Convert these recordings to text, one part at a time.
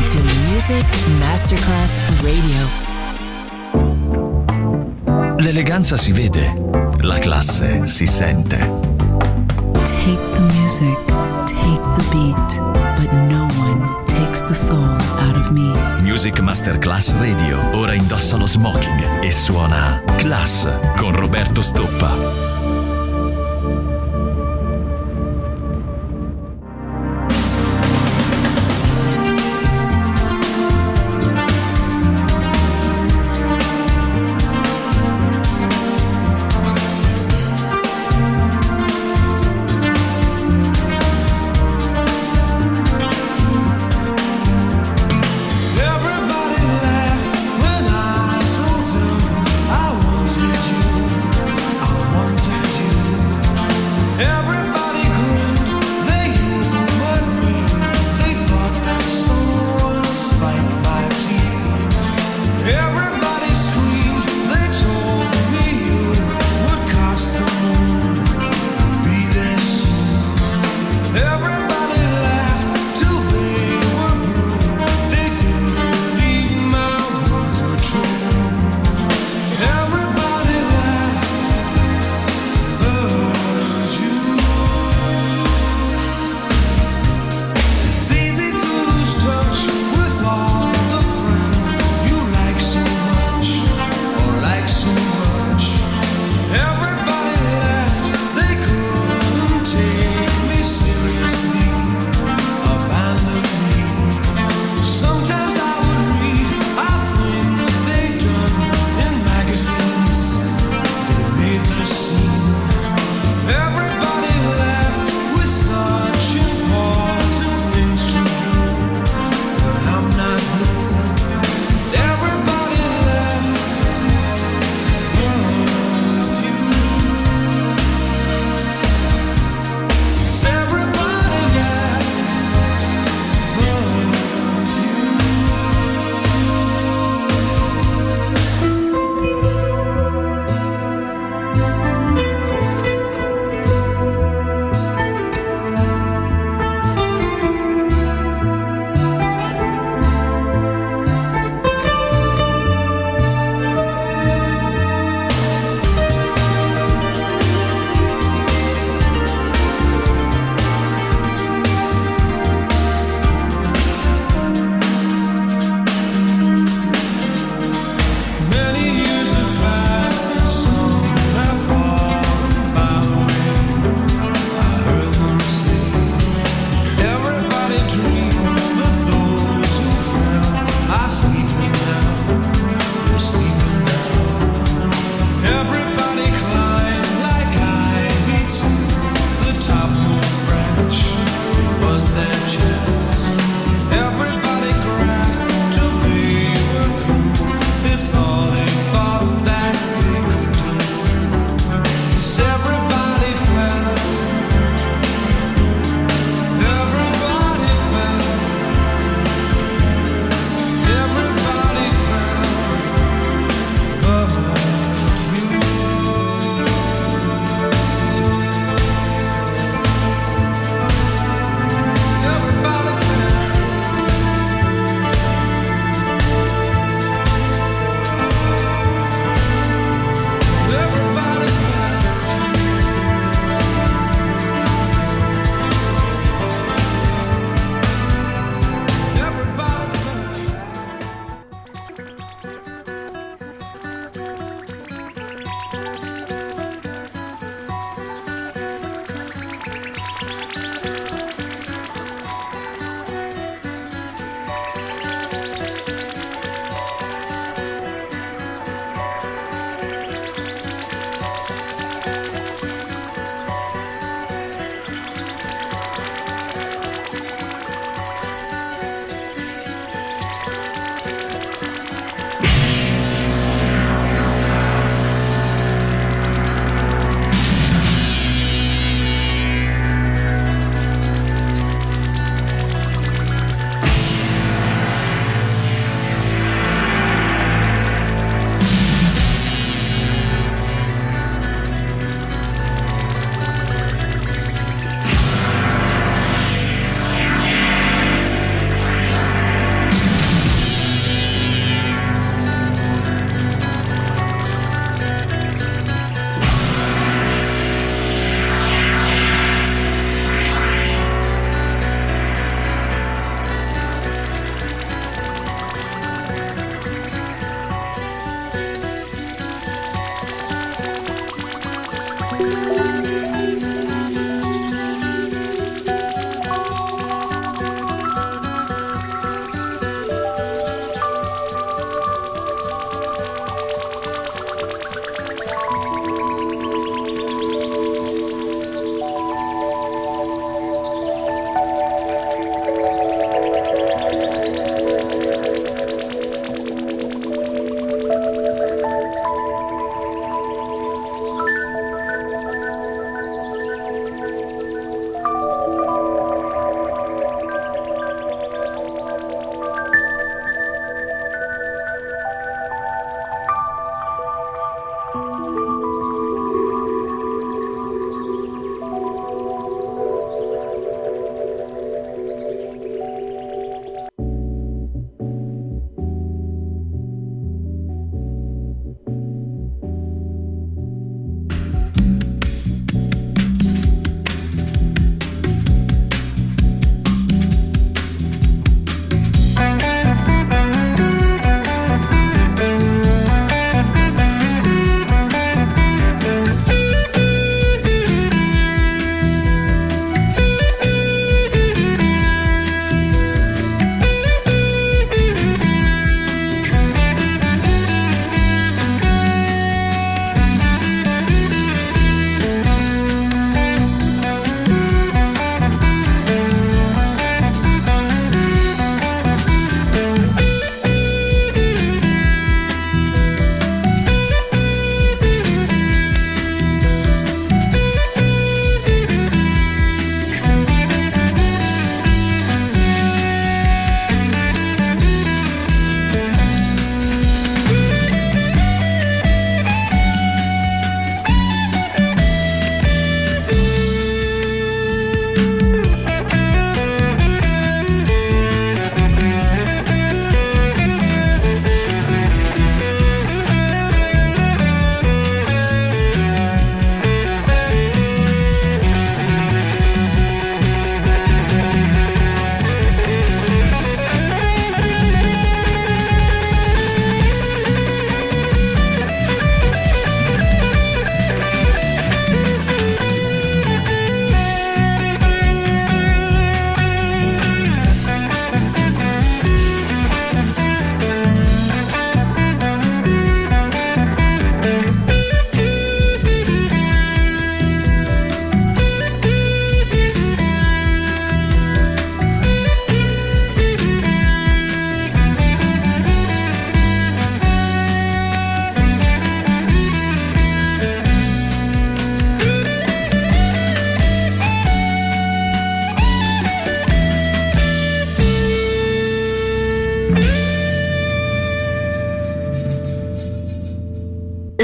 to Music Masterclass Radio. L'eleganza si vede, la classe si sente. Take the music, take the beat, but no one takes the soul out of me. Music Masterclass Radio ora indossa lo smoking e suona Class con Roberto Stoppa. Wanted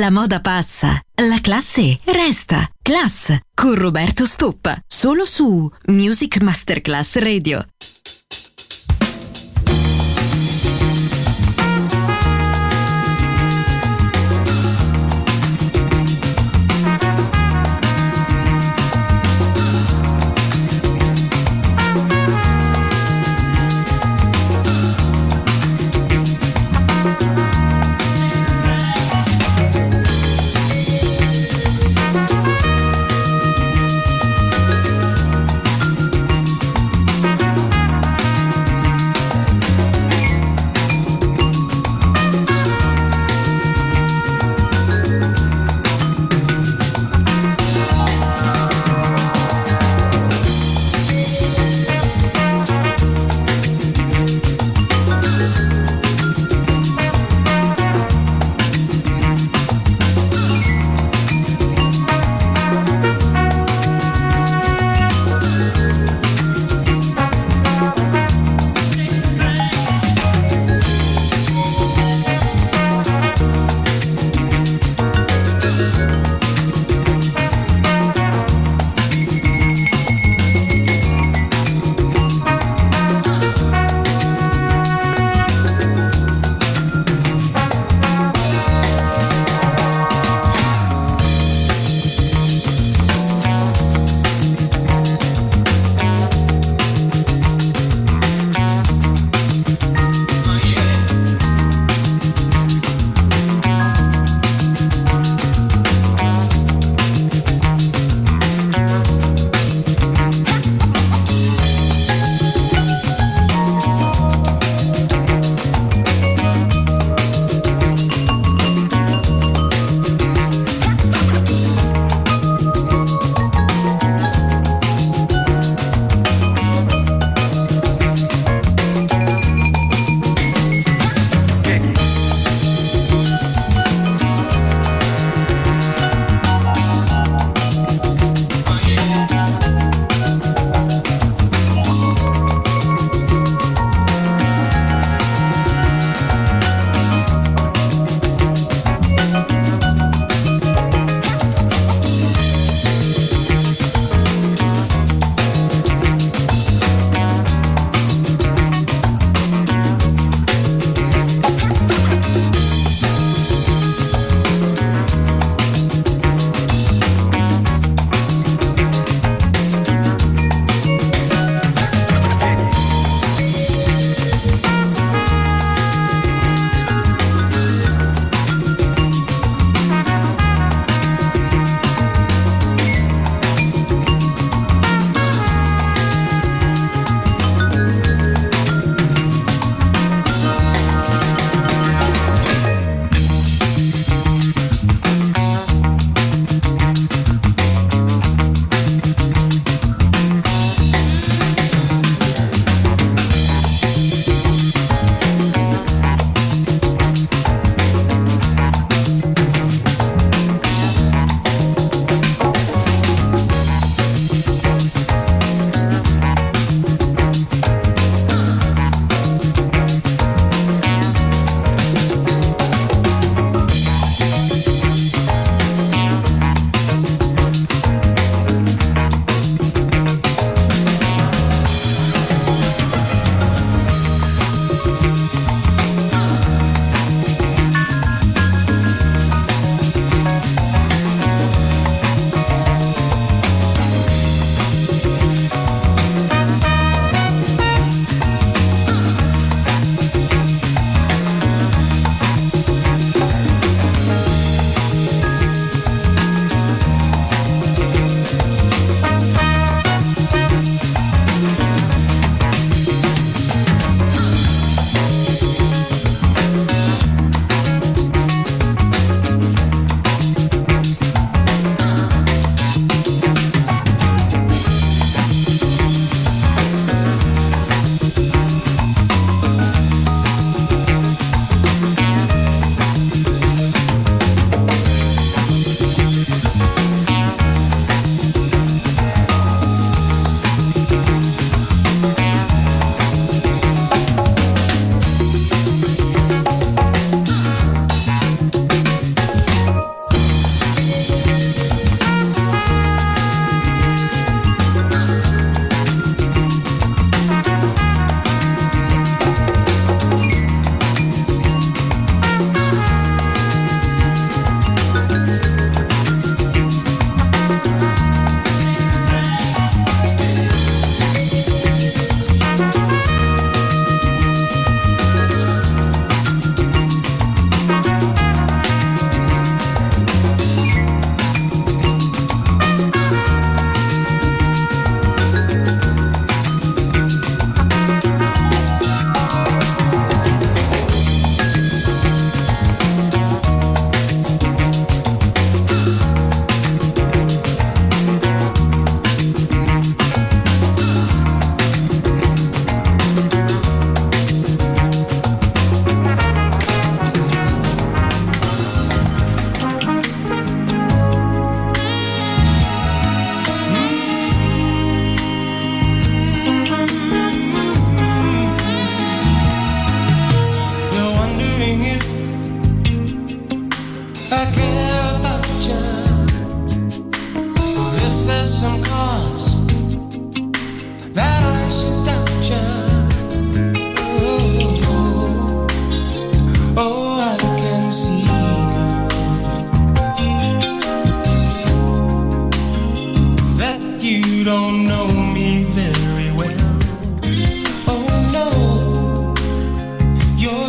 La moda passa, la classe resta. Class con Roberto Stoppa, solo su Music Masterclass Radio.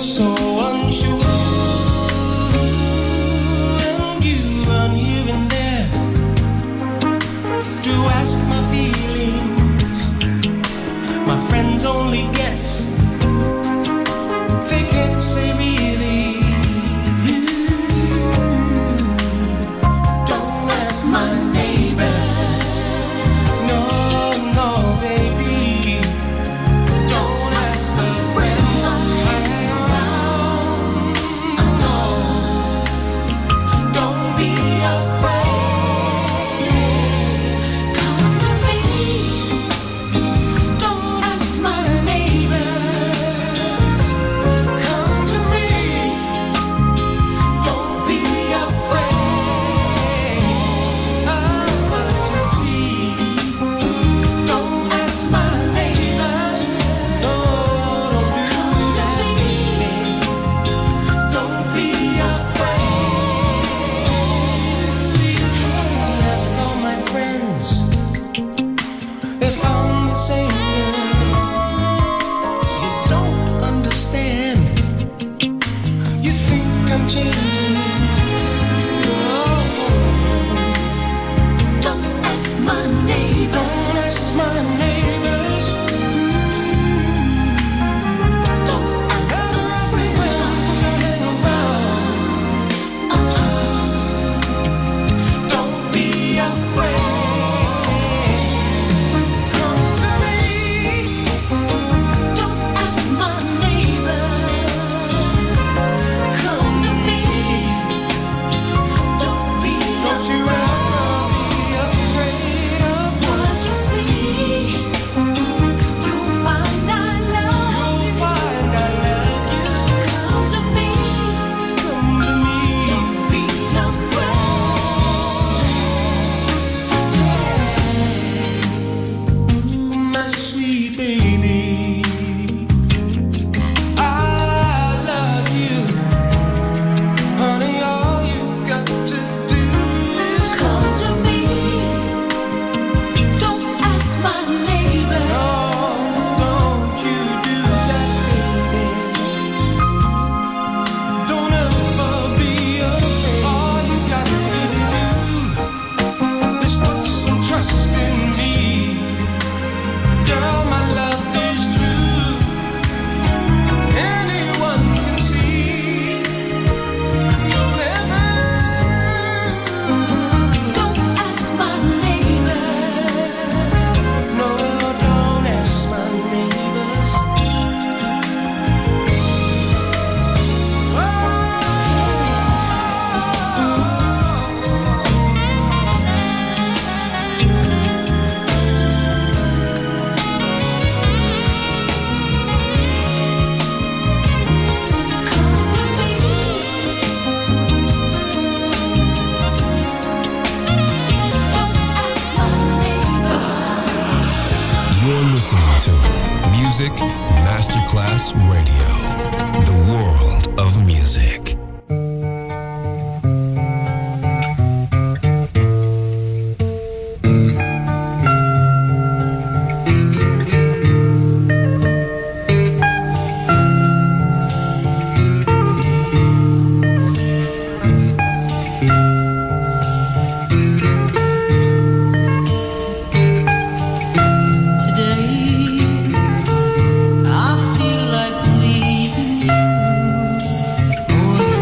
Music Masterclass Radio, the world of music. I feel like pleasing you more than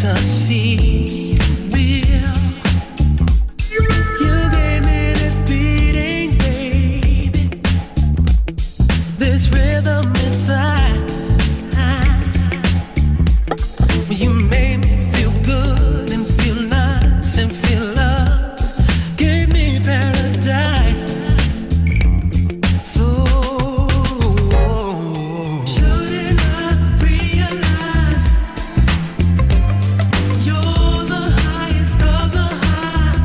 fantasy real. You gave me this beating, baby, this rhythm inside. You made me feel good and feel nice and feel love. Gave me paradise. So shouldn't I realize you're the highest of the high?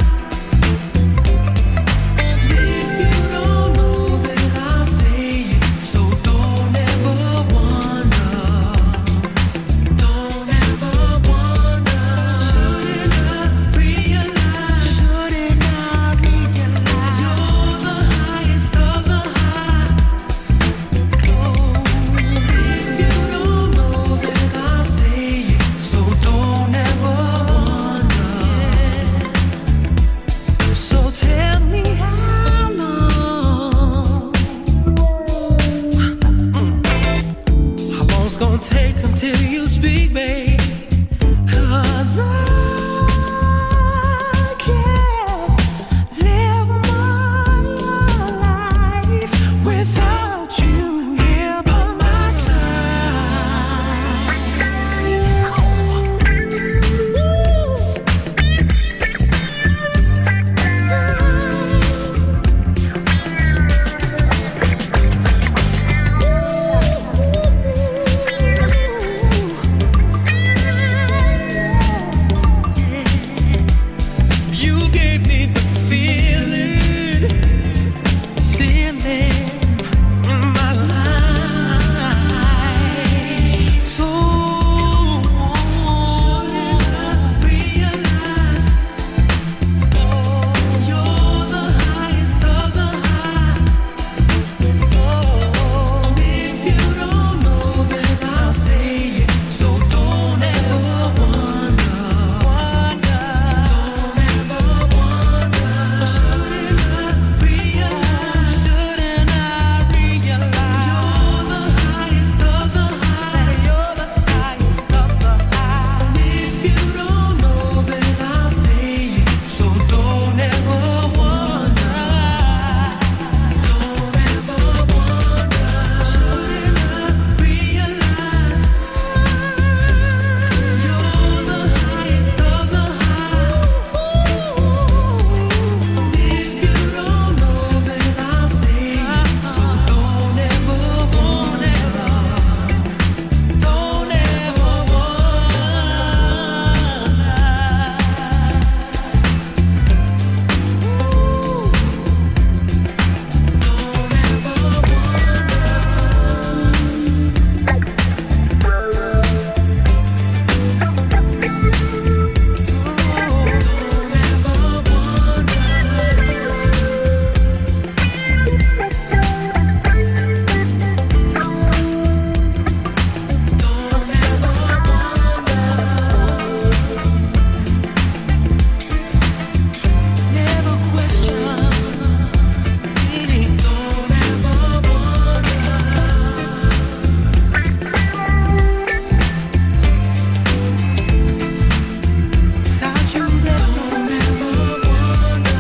If you don't know, then I'll say it. So don't ever wonder. Don't ever wonder. Shouldn't I realize? Shouldn't I realize? You're the highest of the high. Oh, if you don't know, then I'll say it. So don't ever wonder. So tell me how long. How long's gonna take until you speak, babe? 'Cause I can't live my life without you here by my side. You gave me the feeling in my life. So shouldn't I realize? Oh, you're the highest of the high. Oh, if you don't know, then I'll say it. So don't ever wonder. Don't ever wonder. Shouldn't I realize? Shouldn't I realize? You're the highest of the high. You're the highest of the high. If you don't know, then I'll say it. So don't ever wonder. Don't ever wonder. Shouldn't I realize? You're the highest of the high. If you don't know, then I'll say it. So don't ever wonder. Don't ever never question. Really, don't ever wonder. Without you, don't ever wonder.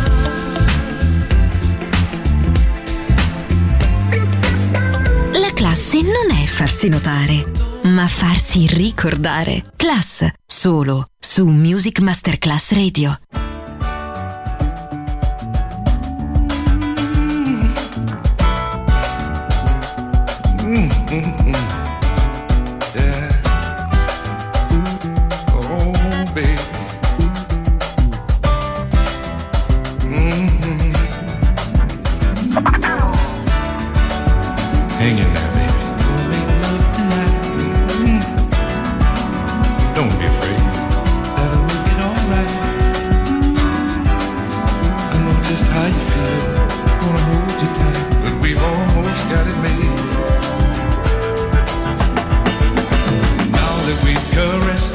La classe non è farsi notare, ma farsi ricordare. Class, solo su Music Masterclass Radio. Yeah. Oh, baby. Hang in there, baby. We'll make love tonight. Don't be afraid. That'll make it alright. I know just how you feel. Wanna hold you tight, but we've almost got it made. Now that we've caressed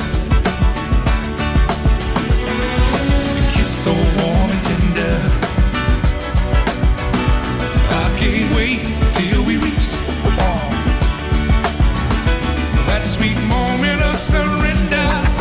and kissed so warm and tender, I can't wait till we reach that sweet moment of surrender.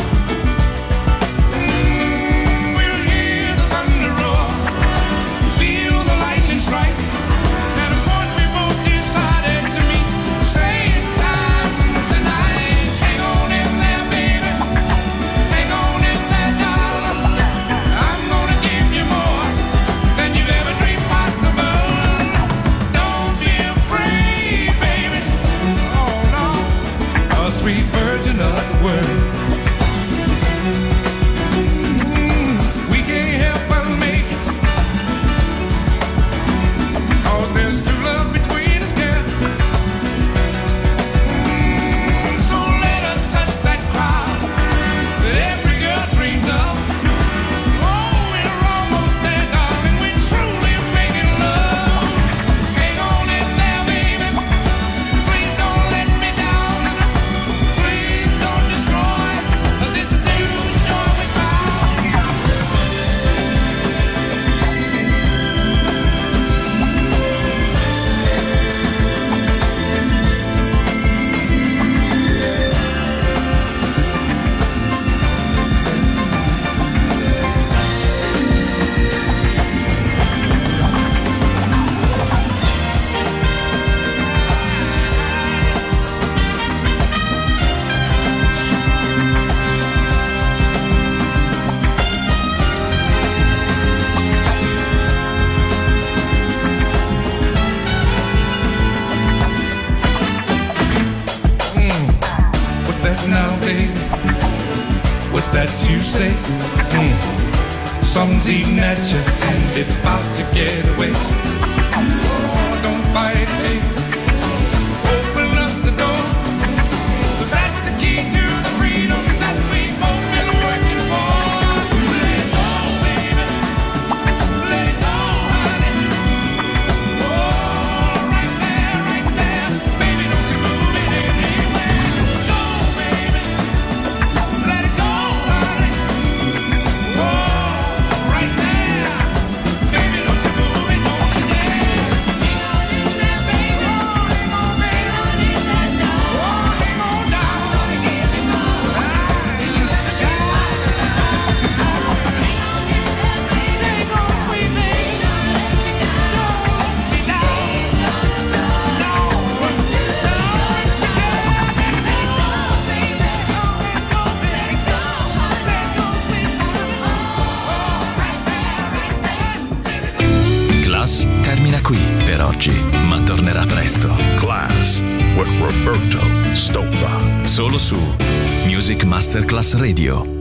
words that you say. Something's eating at you and it's about to get away. Oh, don't fight, baby. Open up the door, 'cause that's the key to the freedom that we've both been working for. Let it go, baby. Let it go, honey. Oh, right there. Baby, don't you move it anywhere. Go, baby. Let it go, honey. Oh, right there. Baby, don't you move it, don't you dare. Hang on, baby. Oh, hang on down. Hang on, sweet baby. Don't let me down. No, don't let me down. Let go, baby. Let go, sweet honey. Oh, right there. Class termina qui per oggi, ma tornerà presto. Class with Roberto Stoppa. Solo su Music Masterclass Radio.